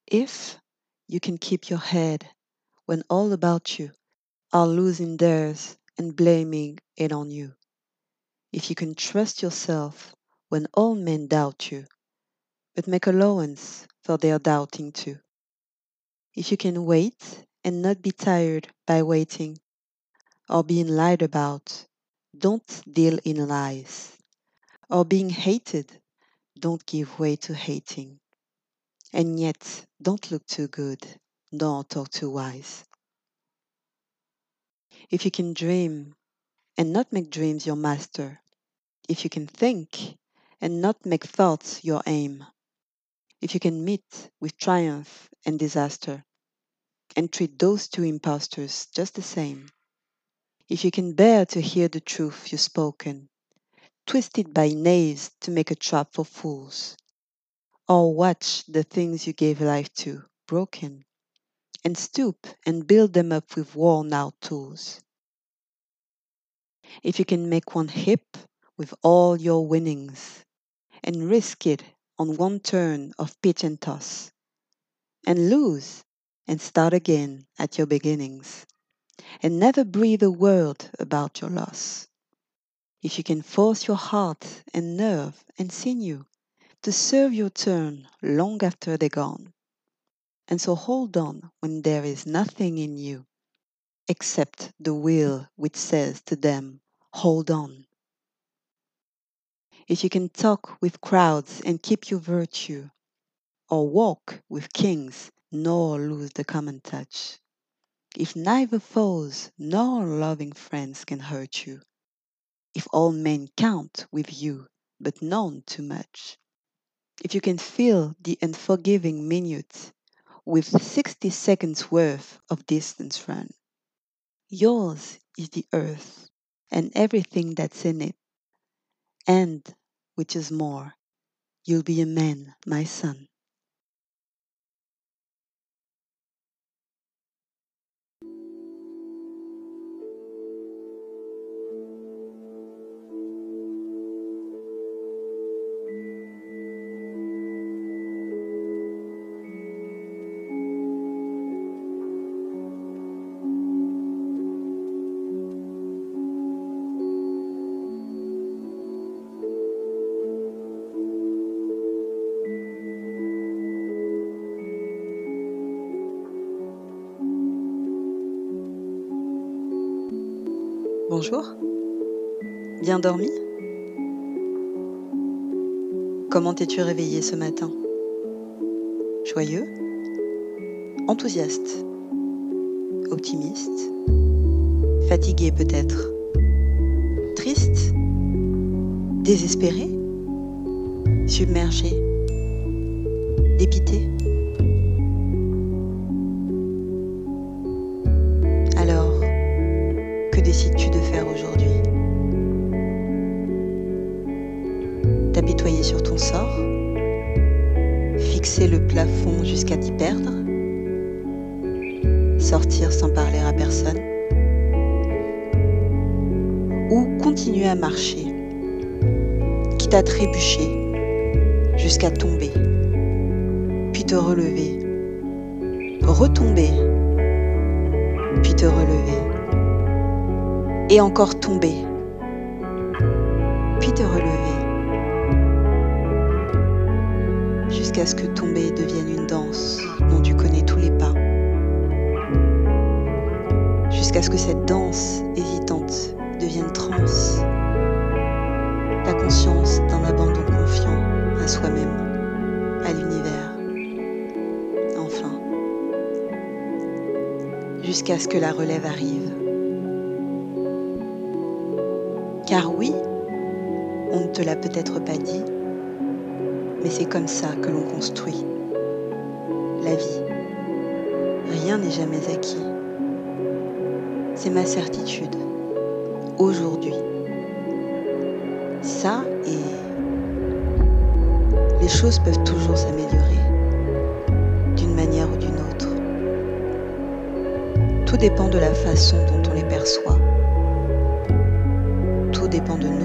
If you can keep your head when all about you are losing theirs and blaming it on you. If you can trust yourself when all men doubt you, but make allowance for their doubting too. If you can wait and not be tired by waiting or being lied about, don't deal in lies. Or being hated, don't give way to hating. And yet, don't look too good, nor talk too wise. If you can dream and not make dreams your master, if you can think and not make thoughts your aim, if you can meet with triumph and disaster and treat those two impostors just the same, if you can bear to hear the truth you've spoken, twisted by knaves to make a trap for fools, or watch the things you gave life to broken, and stoop and build them up with worn out tools. If you can make one hip with all your winnings, and risk it on one turn of pitch and toss, and lose and start again at your beginnings, and never breathe a word about your loss. If you can force your heart and nerve and sinew to serve your turn long after they're gone, and so hold on when there is nothing in you except the will which says to them, hold on. If you can talk with crowds and keep your virtue, or walk with kings nor lose the common touch, if neither foes nor loving friends can hurt you, if all men count with you but none too much, if you can fill the unforgiving minute with 60 seconds worth of distance run, yours is the earth and everything that's in it, and, which is more, you'll be a man, my son. Bonjour, bien dormi? Comment t'es-tu réveillé ce matin? Joyeux? Enthousiaste? Optimiste? Fatigué peut-être? Triste? Désespéré? Submergé? Dépité? Alors, que décides-tu de faire aujourd'hui? T'apitoyer sur ton sort? Fixer le plafond jusqu'à t'y perdre? Sortir sans parler à personne? Ou continuer à marcher, quitte à trébucher, jusqu'à tomber, puis te relever, retomber, puis te relever, et encore tomber, puis te relever, jusqu'à ce que tomber devienne une danse dont tu connais tous les pas, jusqu'à ce que cette danse hésitante devienne transe, ta conscience dans l'abandon confiant à soi-même, à l'univers, enfin, jusqu'à ce que la relève arrive. Car oui, on ne te l'a peut-être pas dit, mais c'est comme ça que l'on construit la vie. Rien n'est jamais acquis. C'est ma certitude, aujourd'hui. Ça, et les choses peuvent toujours s'améliorer, d'une manière ou d'une autre. Tout dépend de la façon dont on les perçoit. Tout dépend de nous.